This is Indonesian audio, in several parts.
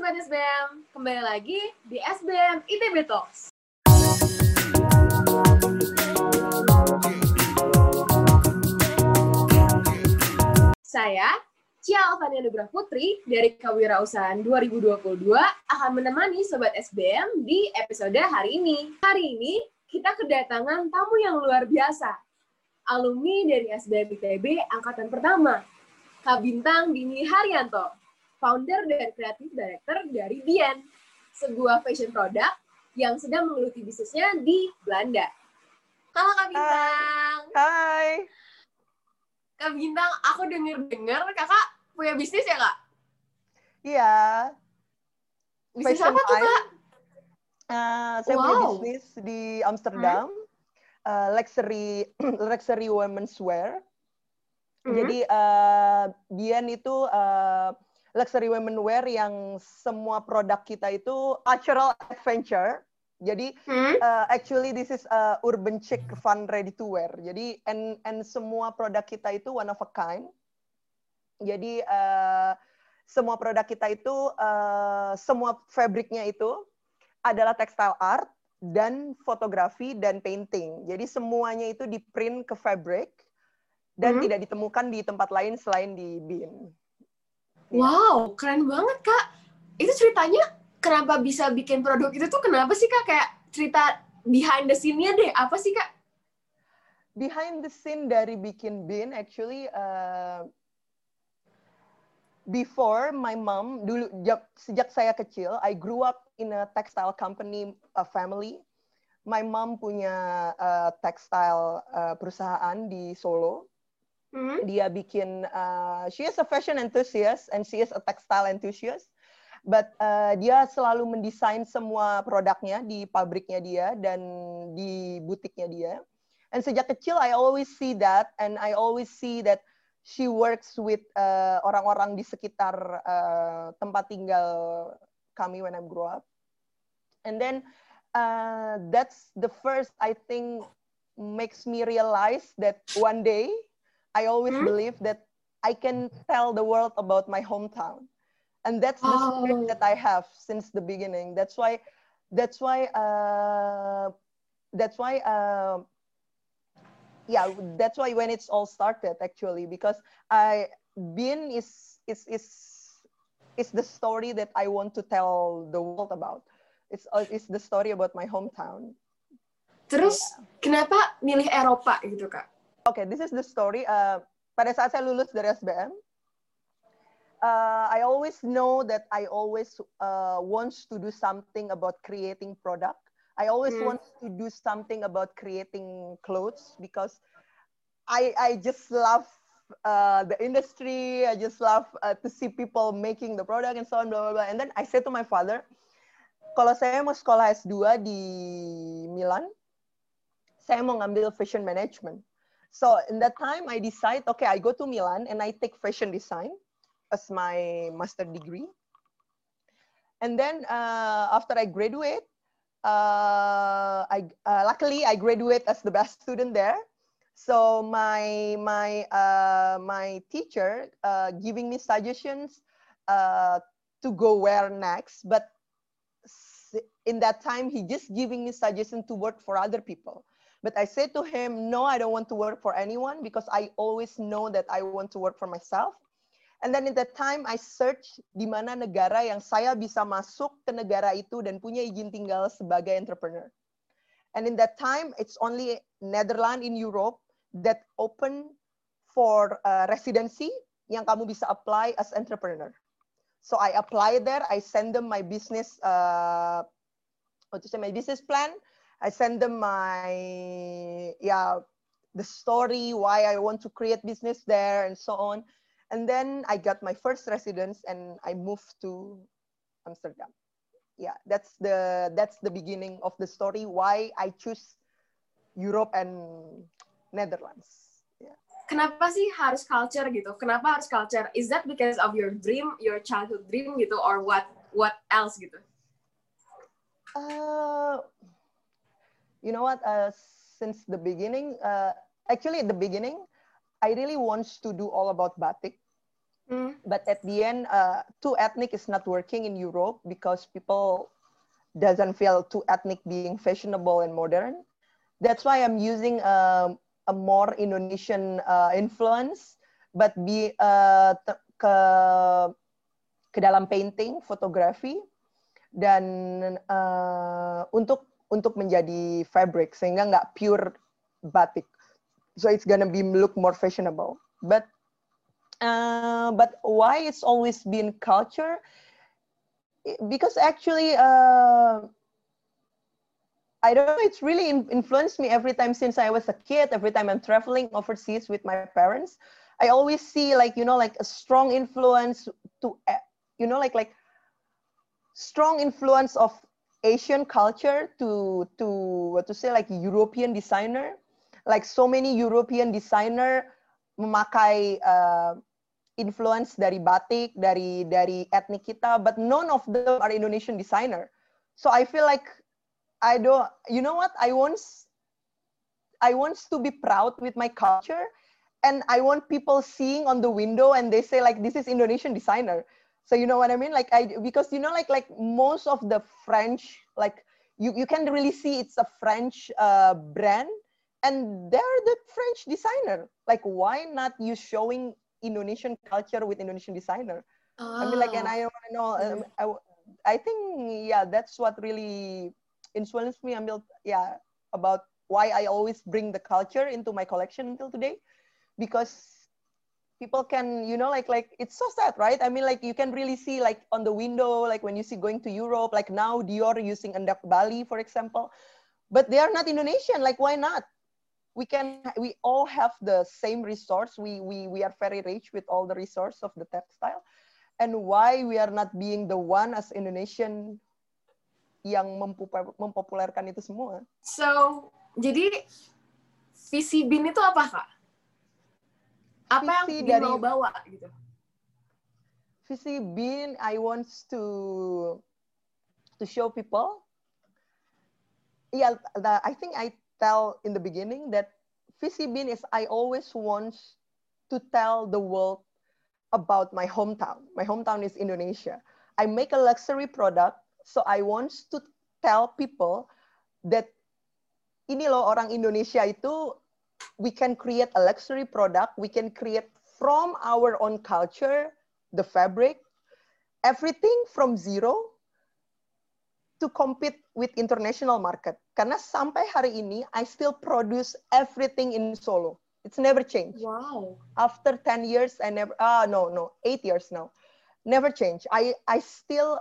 Sobat SBM, kembali lagi di SBM ITB Talks. Saya, Cia Alvania Nugrah Putri dari Kewirausahaan 2022 akan menemani Sobat SBM di episode hari ini. Hari ini kita kedatangan tamu yang luar biasa, alumni dari SBM ITB Angkatan Pertama, Kak Bintang Dini Haryanto, founder dan creative director dari Bien, sebuah fashion product yang sedang menggeluti bisnisnya di Belanda. Halo Kak Bintang. Hai. Kak Bintang, aku dengar kakak punya bisnis ya Kak? Iya. Bisnis Fashion apa tuh Kak? Saya punya bisnis di Amsterdam, luxury women's wear. Jadi Bien itu luxury women wear yang semua produk kita itu cultural adventure. Jadi actually this is urban chic fun ready to wear. Jadi and semua produk kita itu one of a kind. Jadi semua produk kita itu semua fabriknya itu adalah textile art dan fotografi dan painting. Jadi semuanya itu di print ke fabric dan tidak ditemukan di tempat lain selain di Bien. Wow, keren banget Kak. Itu ceritanya kenapa bisa bikin produk itu tuh kenapa sih Kak? Kayak cerita behind the scene-nya deh. Apa sih Kak? Behind the scene dari bikin Bien, actually before my mom, dulu sejak saya kecil, I grew up in a textile company family. My mom punya textile perusahaan di Solo. Dia bikin, she is a fashion enthusiast and she is a textile enthusiast. But dia selalu mendesain semua produknya di pabriknya dia dan di butiknya dia. And sejak kecil I always see that, and I always see that she works with orang-orang di sekitar tempat tinggal kami when I grew up. And then that's the first, I think, makes me realize that one day I always believe that I can tell the world about my hometown. And that's the spirit that I have since the beginning. That's why when it's all started, actually, because Bien is the story that I want to tell the world about. It's the story about my hometown. Terus kenapa milih Eropa gitu Kak? Okay, this is the story. Pada saat saya lulus dari SBM, I always know that I always wants to do something about creating product. I always want to do something about creating clothes because I just love the industry. I just love to see people making the product and so on, blah, blah, blah. And then I said to my father, kalau saya mau sekolah S2 di Milan, saya mau ngambil fashion management. So in that time, I decide, okay, I go to Milan and I take fashion design as my master degree. And then after I graduate, luckily I graduate as the best student there. So my teacher giving me suggestions to go where next, but in that time he just giving me suggestion to work for other people. But I said to him, no, I don't want to work for anyone because I always know that I want to work for myself. And then in that time I search di mana negara yang saya bisa masuk ke negara itu dan punya izin tinggal sebagai entrepreneur. And in that time it's only Netherlands in Europe that open for residency yang kamu bisa apply as entrepreneur. So I apply there, I send them my business my business plan. I send them the story why I want to create business there and so on. And then I got my first residence and I moved to Amsterdam. Yeah, that's the beginning of the story why I choose Europe and Netherlands. Yeah. Kenapa sih harus culture gitu? Kenapa harus culture? Is that because of your dream, your childhood dream gitu, or what else gitu? You know what? Since the beginning, actually at the beginning, I really want to do all about batik. But at the end, too ethnic is not working in Europe because people doesn't feel too ethnic being fashionable and modern. That's why I'm using a more Indonesian influence, but ke dalam painting, fotografi, dan untuk menjadi fabric sehingga nggak pure batik. So it's gonna be look more fashionable. But why it's always been culture? Because actually, I don't know, it's really influenced me every time since I was a kid. Every time I'm traveling overseas with my parents, I always see like a strong influence to like strong influence of Asian culture to what to say, like European designer. Like so many European designer memakai influence dari batik, dari etnik kita, but none of them are Indonesian designer. So I feel like I don't, you know what? I want to be proud with my culture, and I want people seeing on the window and they say like, this is Indonesian designer. So you know what I mean? Like because like most of the French, like you can really see it's a French brand, and they're the French designer. Like why not you showing Indonesian culture with Indonesian designer? I mean, like, and I want to know. I think that's what really influenced me about why I always bring the culture into my collection until today, because people can like it's so sad, right? I mean, like you can really see like on the window, like when you see going to Europe, like now Dior using Endap Bali, for example, but they are not Indonesian. Like why not? We all have the same resource. We are very rich with all the resource of the textile, and why we are not being the one as Indonesian yang mempopulerkan itu semua. So, jadi visi BIN itu apa, Kak? Apa visi yang BIN mau bawa gitu? Visi BIN, I want to show people. Yeah, I think I tell in the beginning that visi BIN is I always want to tell the world about my hometown. My hometown is Indonesia. I make a luxury product, so I want to tell people that ini loh orang Indonesia itu, we can create a luxury product, we can create from our own culture, the fabric, everything from zero to compete with international market. Karena sampai hari ini, I still produce everything in Solo. It's never changed. Wow. After 10 years, I never, 8 years now. Never changed. I still,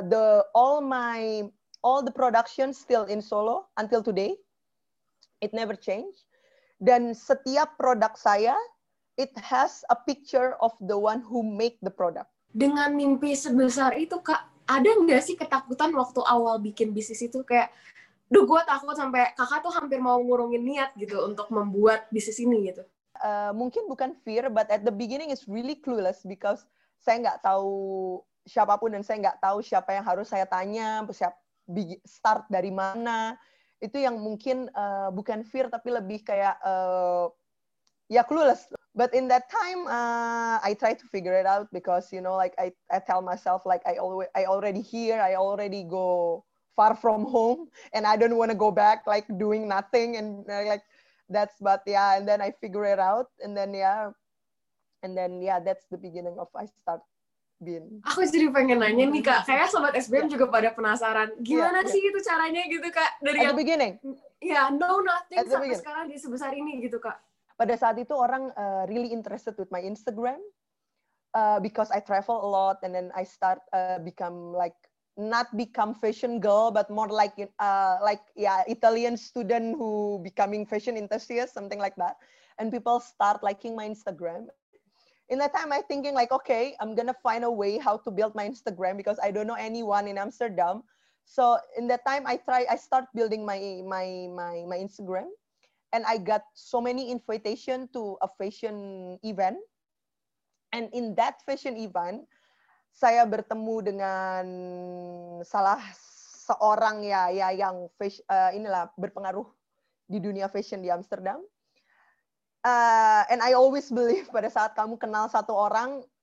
all the production still in Solo until today. It never changed. Dan setiap produk saya, it has a picture of the one who make the product. Dengan mimpi sebesar itu, Kak, ada nggak sih ketakutan waktu awal bikin bisnis itu? Kayak, gue takut sampai kakak tuh hampir mau ngurungin niat gitu untuk membuat bisnis ini gitu. Mungkin bukan fear, but at the beginning it's really clueless because saya nggak tahu siapapun dan saya nggak tahu siapa yang harus saya tanya, start dari mana. Itu yang mungkin bukan fear tapi lebih kayak clueless. But in that time I try to figure it out because like I tell myself like I already here, I already go far from home and I don't want to go back like doing nothing and like that's and then I figure it out and then that's the beginning of I start BIN. Aku jadi pengen nanya nih Kak, kayak sobat SBM juga pada penasaran, gimana sih itu caranya gitu Kak? Dari at the beginning? No nothing sampai sekarang di sebesar ini gitu Kak. Pada saat itu orang really interested with my Instagram because I travel a lot and then I start not become fashion girl but more like Italian student who becoming fashion enthusiast, something like that, and people start liking my Instagram. In that time, I thinking like, okay, I'm gonna find a way how to build my Instagram because I don't know anyone in Amsterdam. So in that time, I start building my Instagram, and I got so many invitation to a fashion event. And in that fashion event, saya bertemu dengan salah seorang yang berpengaruh di dunia fashion di Amsterdam. And I always believe pada saat kamu kenal satu orang,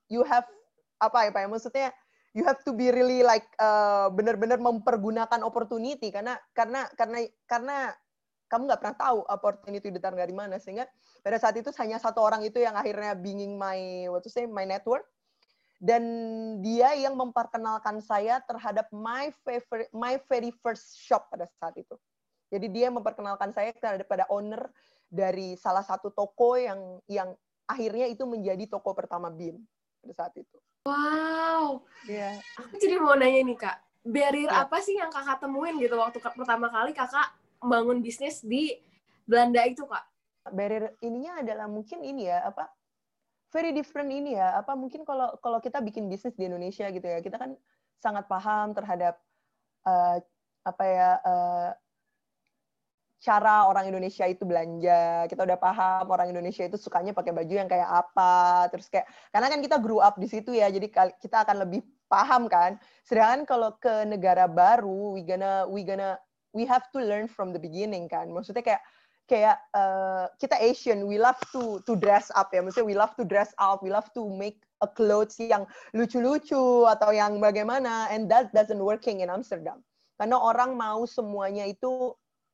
you have apa ya maksudnya you have to be really like benar-benar mempergunakan opportunity karena kamu nggak pernah tahu opportunity datang dari mana, sehingga pada saat itu hanya satu orang itu yang akhirnya being my network, dan dia yang memperkenalkan saya terhadap my very first shop pada saat itu. Jadi dia memperkenalkan saya kepada owner dari salah satu toko yang akhirnya itu menjadi toko pertama Bean pada saat itu. Wow. Yeah. Aku jadi mau nanya nih Kak, barrier Yeah. apa sih yang Kakak temuin gitu waktu pertama kali Kakak bangun bisnis di Belanda itu, Kak? Barrier ininya adalah mungkin ini ya, very different ini ya, mungkin kalau kita bikin bisnis di Indonesia gitu ya, kita kan sangat paham terhadap cara orang Indonesia itu belanja, kita udah paham orang Indonesia itu sukanya pakai baju yang kayak apa, terus kayak, karena kan kita grew up di situ ya, jadi kita akan lebih paham kan. Sedangkan kalau ke negara baru, we have to learn from the beginning kan. Maksudnya kayak kita Asian, we love to dress up ya, maksudnya we love to dress up, we love to make a clothes yang lucu-lucu atau yang bagaimana, and that doesn't working in Amsterdam. Karena orang mau semuanya itu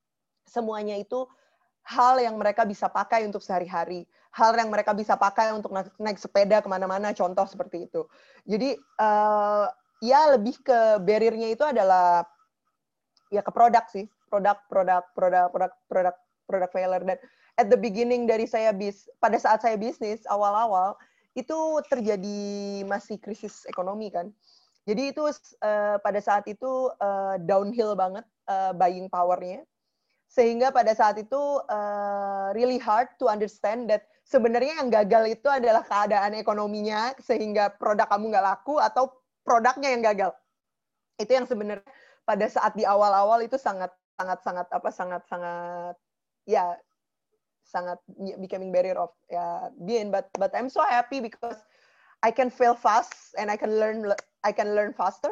hal yang mereka bisa pakai untuk sehari-hari, hal yang mereka bisa pakai untuk naik sepeda kemana-mana, contoh seperti itu. Jadi ya lebih ke barrier-nya itu adalah ya ke produk sih, produk failure. Dan at the beginning dari pada saat saya bisnis awal-awal itu terjadi masih krisis ekonomi kan. Jadi itu pada saat itu downhill banget buying power-nya. Sehingga pada saat itu really hard to understand that sebenarnya yang gagal itu adalah keadaan ekonominya sehingga produk kamu nggak laku atau produknya yang gagal. Itu yang sebenarnya pada saat di awal-awal itu sangat becoming barrier of being, but I'm so happy because I can fail fast and I can learn faster.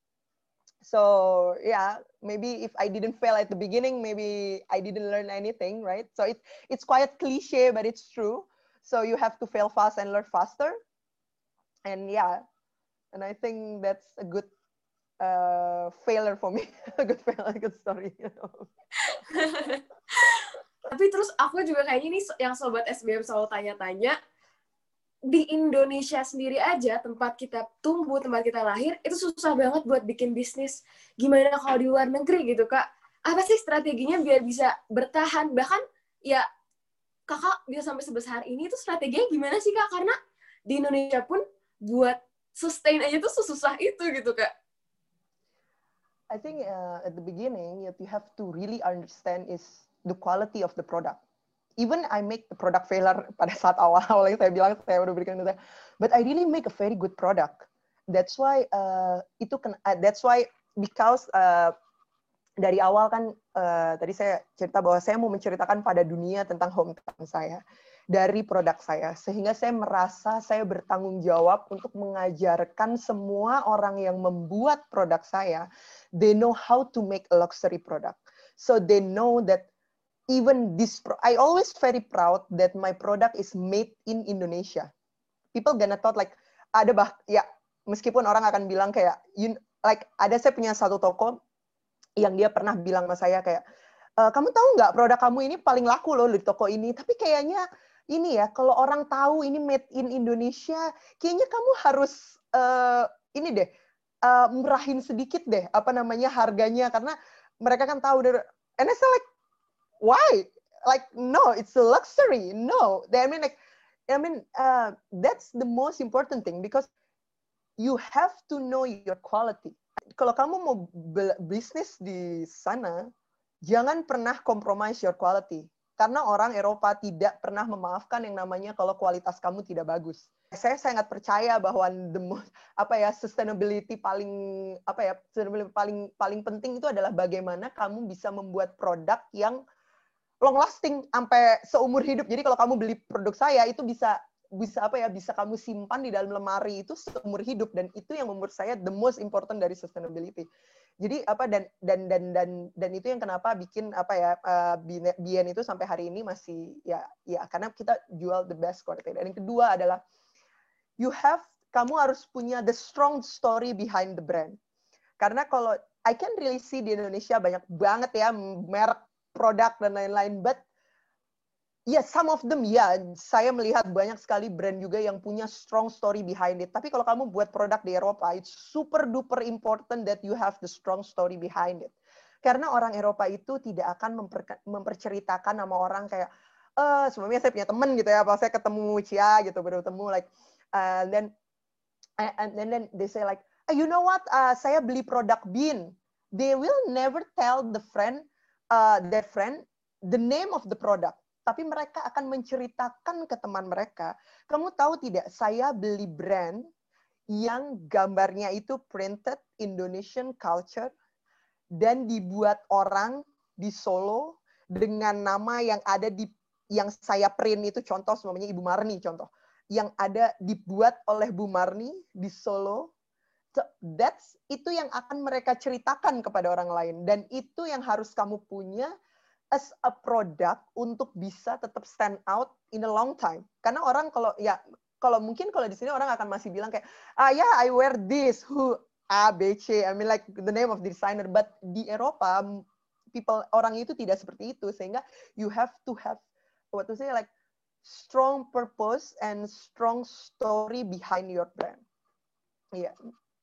So yeah, maybe if I didn't fail at the beginning, maybe I didn't learn anything, right? So it's quite cliche, but it's true. So you have to fail fast and learn faster. And yeah, and I think that's a good failure for me, a good story. You know? Tapi terus aku juga kayaknya nih yang sobat SBM selalu tanya-tanya, di Indonesia sendiri aja, tempat kita tumbuh, tempat kita lahir, itu susah banget buat bikin bisnis. Gimana kalau di luar negeri gitu, Kak? Apa sih strateginya biar bisa bertahan? Bahkan ya Kakak bisa sampai sebesar ini, itu strateginya gimana sih, Kak? Karena di Indonesia pun buat sustain aja tuh susah itu gitu, Kak. I think at the beginning, you have to really understand is the quality of the product. Even I make the product failure pada saat awal-awal yang saya bilang saya udah berikan itu, but I really make a very good product. That's why because dari awal kan tadi saya cerita bahwa saya mau menceritakan pada dunia tentang hometown saya dari produk saya, sehingga saya merasa saya bertanggung jawab untuk mengajarkan semua orang yang membuat produk saya, they know how to make a luxury product, so they know that even I always very proud that my product is made in Indonesia. People gonna thought like meskipun orang akan bilang kayak saya punya satu toko yang dia pernah bilang sama saya kayak, kamu tahu nggak produk kamu ini paling laku loh di toko ini, tapi kayaknya ini ya kalau orang tahu ini made in Indonesia, kayaknya kamu harus ini deh murahin sedikit deh harganya, karena mereka kan tahu dari, and I say like, why? Like, no, it's a luxury. No, that's the most important thing because you have to know your quality. Kalau kamu mau bisnis di sana, jangan pernah compromise your quality. Karena orang Eropa tidak pernah memaafkan yang namanya kalau kualitas kamu tidak bagus. Saya sangat percaya bahwa sustainability paling penting itu adalah bagaimana kamu bisa membuat produk yang long lasting sampai seumur hidup. Jadi kalau kamu beli produk saya itu bisa kamu simpan di dalam lemari itu seumur hidup, dan itu yang menurut saya the most important dari sustainability. Jadi dan itu yang kenapa bikin Bien itu sampai hari ini masih ya karena kita jual the best quality. Dan yang kedua adalah kamu harus punya the strong story behind the brand. Karena kalau I can really see di Indonesia banyak banget ya merek produk dan lain-lain, but some of them saya melihat banyak sekali brand juga yang punya strong story behind it. Tapi kalau kamu buat produk di Eropa, it's super duper important that you have the strong story behind it. Karena orang Eropa itu tidak akan memperceritakan sama orang kayak, sebelumnya saya punya teman gitu ya, apa saya ketemu Cia gitu, baru ketemu like, then they say like, you know what, saya beli produk Bean. They will never tell the friend, that friend, the name of the product. Tapi mereka akan menceritakan ke teman mereka, kamu tahu tidak, saya beli brand yang gambarnya itu printed Indonesian culture, dan dibuat orang di Solo dengan nama yang ada yang saya print itu, contoh semuanya Ibu Marni contoh, yang ada dibuat oleh Bu Marni di Solo. So, itu yang akan mereka ceritakan kepada orang lain, dan itu yang harus kamu punya as a product untuk bisa tetap stand out in a long time. Karena orang kalau mungkin kalau di sini orang akan masih bilang kayak, I wear this, who A, B, C, I mean like the name of the designer, but di Eropa orang itu tidak seperti itu, sehingga you have to have what to say like strong purpose and strong story behind your brand. Iya.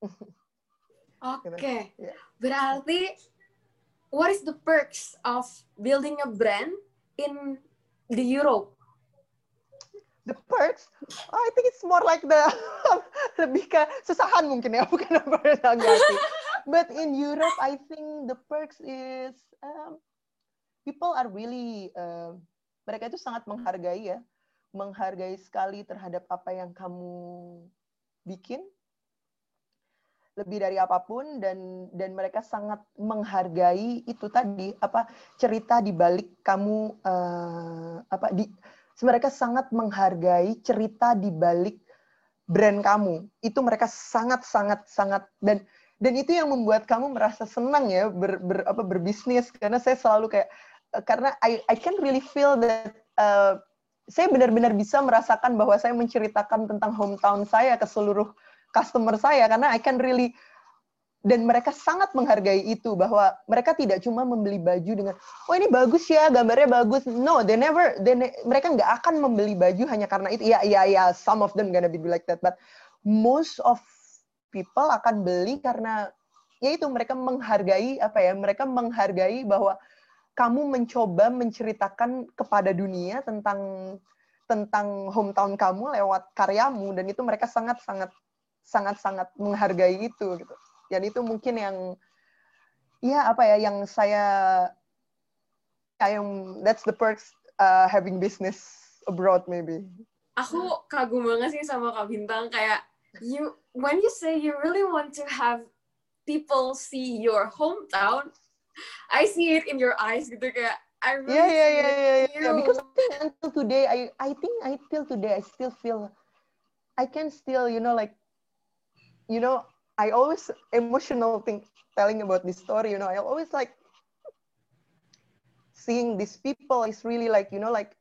Oke. Berarti what is the perks of building a brand in the Europe? The perks, I think it's more like lebih ke susahan mungkin ya, bukan apa. But in Europe, I think the perks is people are really mereka itu sangat menghargai sekali terhadap apa yang kamu bikin, lebih dari apapun, dan mereka sangat menghargai itu tadi cerita di balik kamu mereka sangat menghargai cerita di balik brand kamu. Itu mereka sangat dan itu yang membuat kamu merasa senang ya berbisnis, karena saya selalu kayak, karena I can really feel that saya benar-benar bisa merasakan bahwa saya menceritakan tentang hometown saya ke seluruh customer saya, karena I can really, dan mereka sangat menghargai itu, bahwa mereka tidak cuma membeli baju dengan, ini bagus ya, gambarnya bagus. No, mereka nggak akan membeli baju hanya karena itu. Ya, some of them gonna be like that, but most of people akan beli karena ya itu, mereka menghargai mereka menghargai bahwa kamu mencoba menceritakan kepada dunia tentang hometown kamu lewat karyamu, dan itu mereka sangat menghargai itu gitu. Dan itu mungkin yang yang that's the perks having business abroad maybe. Aku kagum banget sih sama Kak Bintang, kayak when you say you really want to have people see your hometown, I see it in your eyes gitu, kayak I really see it in you. Because until today I think till today I still feel I can still I always emotional telling about this story, I always like seeing these people is really like,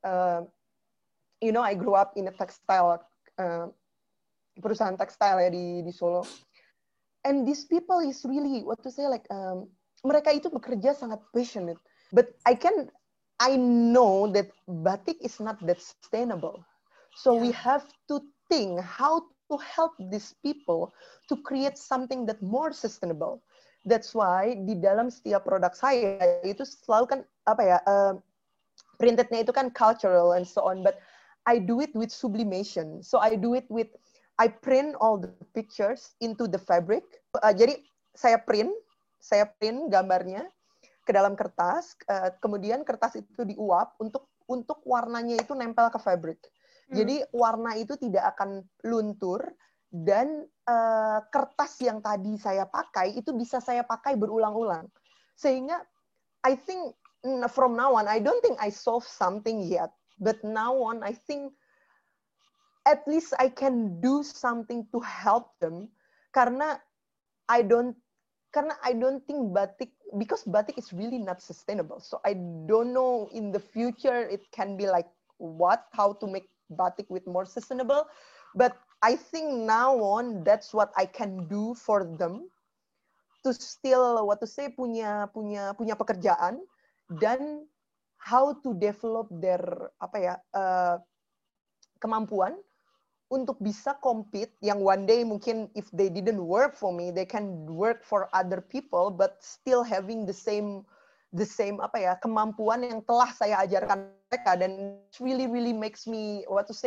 I grew up in a textile, perusahaan tekstil ya di Solo. And these people is really, what to say, like, mereka itu bekerja sangat passionate. But I know that batik is not that sustainable. So we have to think how to help these people to create something that more sustainable. That's why di dalam setiap produk saya itu selalu kan printednya itu kan cultural and so on, but I do it with sublimation. So I print all the pictures into the fabric. Jadi saya print gambarnya ke dalam kertas, kemudian kertas itu diuap untuk warnanya itu nempel ke fabric. Jadi warna itu tidak akan luntur, dan kertas yang tadi saya pakai itu bisa saya pakai berulang-ulang. Sehingga I think from now on, I don't think I solve something yet, but now on I think at least I can do something to help them, karena I don't think batik, because batik is really not sustainable. So I don't know in the future it can be like how to make batik with more sustainable, but I think now on that's what I can do for them to still punya pekerjaan dan how to develop their kemampuan untuk bisa compete yang one day mungkin if they didn't work for me they can work for other people but still having the same kemampuan yang telah saya ajarkan mereka, dan really makes me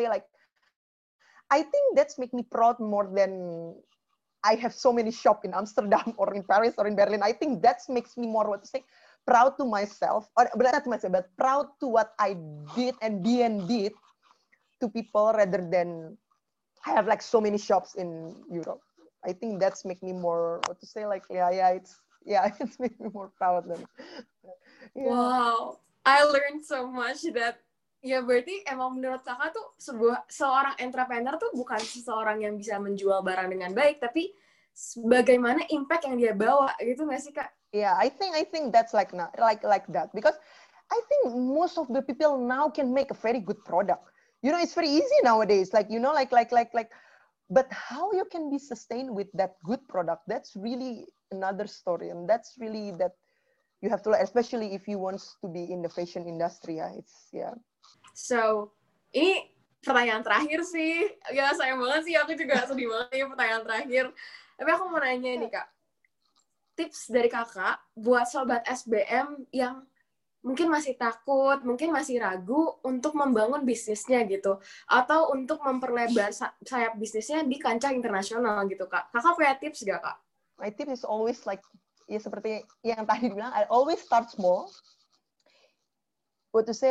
I think that's make me proud more than I have so many shop in Amsterdam or in Paris or in Berlin. I think that makes me more proud to myself, or not to myself, but proud to what I did and did to people rather than I have like so many shops in Europe. I think that's make me more it's make me more proud than. Yeah. Wow, I learned so much that ya berarti emang menurut kakak tuh seorang entrepreneur tuh bukan seseorang yang bisa menjual barang dengan baik, tapi bagaimana impact yang dia bawa gitu nggak sih Kak? Yeah, I think that's like that because I think most of the people now can make a very good product. You know, it's very easy nowadays. Like, you know, but how you can be sustained with that good product, that's really another story. And that's really that you have to, especially if you want to be in the fashion industry. Yeah. So, ini pertanyaan terakhir sih. Ya, sayang banget sih. Aku juga sedih banget nih pertanyaan terakhir. Tapi aku mau nanya nih, Kak. Tips dari kakak buat sobat SBM yang mungkin masih takut, mungkin masih ragu untuk membangun bisnisnya gitu, atau untuk memperlebar sayap bisnisnya di kancah internasional gitu, Kak. Kakak punya tips gak, Kak? My tip is always ya seperti yang tadi dibilang, I always start small. What to say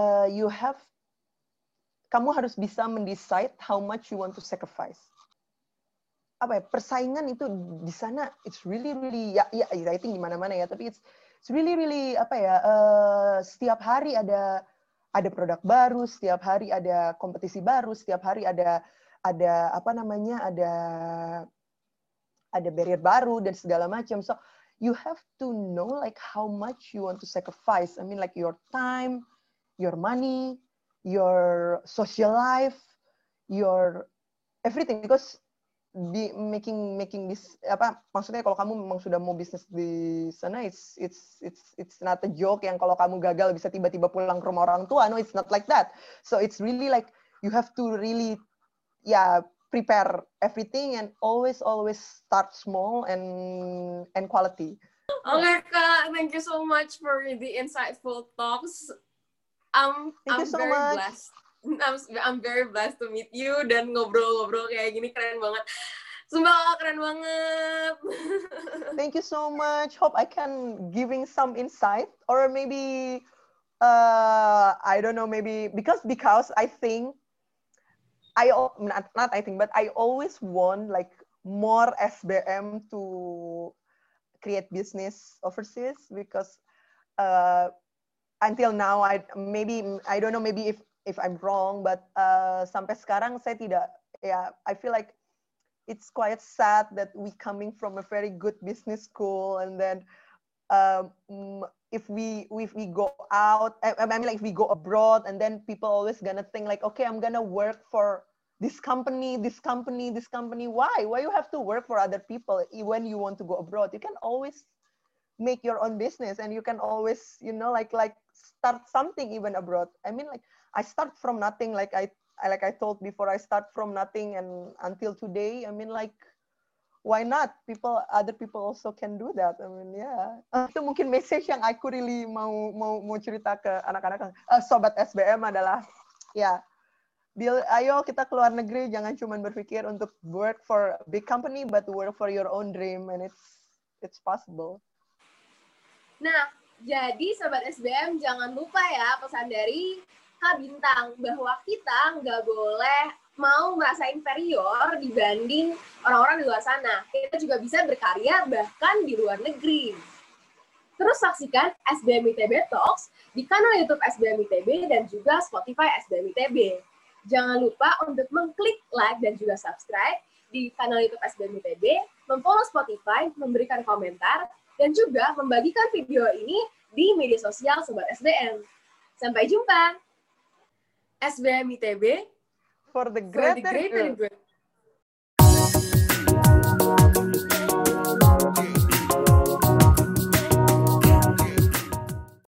kamu harus bisa mendecide how much you want to sacrifice. Persaingan itu di sana it's really I think di mana-mana ya, tapi it's really setiap hari ada produk baru, setiap hari ada kompetisi baru, setiap hari ada barrier baru dan segala macam. So you have to know how much you want to sacrifice. I mean your time, your money, your social life, your everything, because making this maksudnya kalau kamu memang sudah mau bisnis di sana, it's not a joke yang kalau kamu gagal bisa tiba-tiba pulang ke rumah orang tua. No, it's not like that. So it's really you have to really prepare everything and always start small and quality. Okay, Kak, thank you so much for the insightful talks. I'm very blessed. I'm very blessed to meet you dan ngobrol-ngobrol kayak gini, keren banget. Sumpah keren banget. Thank you so much. Hope I can giving some insight, or maybe I don't know, maybe because I think but I always want more SBM to create business overseas, because until now I don't know, maybe if I'm wrong, but sampai sekarang saya tidak, I feel like it's quite sad that we coming from a very good business school, and then if we go out, I mean if we go abroad, and then people always gonna think okay, I'm gonna work for this company. Why you have to work for other people when you want to go abroad? You can always make your own business, and you can always start something even abroad. I mean I start from nothing, like I told before, I start from nothing, and until today, I mean why not? Other people also can do that. I mean itu mungkin message yang aku really mau cerita ke anak-anak sobat SBM adalah ayo kita keluar negeri, jangan cuma berpikir untuk work for a big company, but work for your own dream, and it's possible. Nah, jadi sobat SBM jangan lupa ya pesan dari Kak Bintang, bahwa kita nggak boleh mau merasa inferior dibanding orang-orang di luar sana. Kita juga bisa berkarya bahkan di luar negeri. Terus saksikan SBM ITB Talks di kanal YouTube SBM ITB dan juga Spotify SBM ITB. Jangan lupa untuk mengklik like dan juga subscribe di kanal YouTube SBM ITB, memfollow Spotify, memberikan komentar, dan juga membagikan video ini di media sosial Sobat SBM. Sampai jumpa! SBM ITB for the greater good.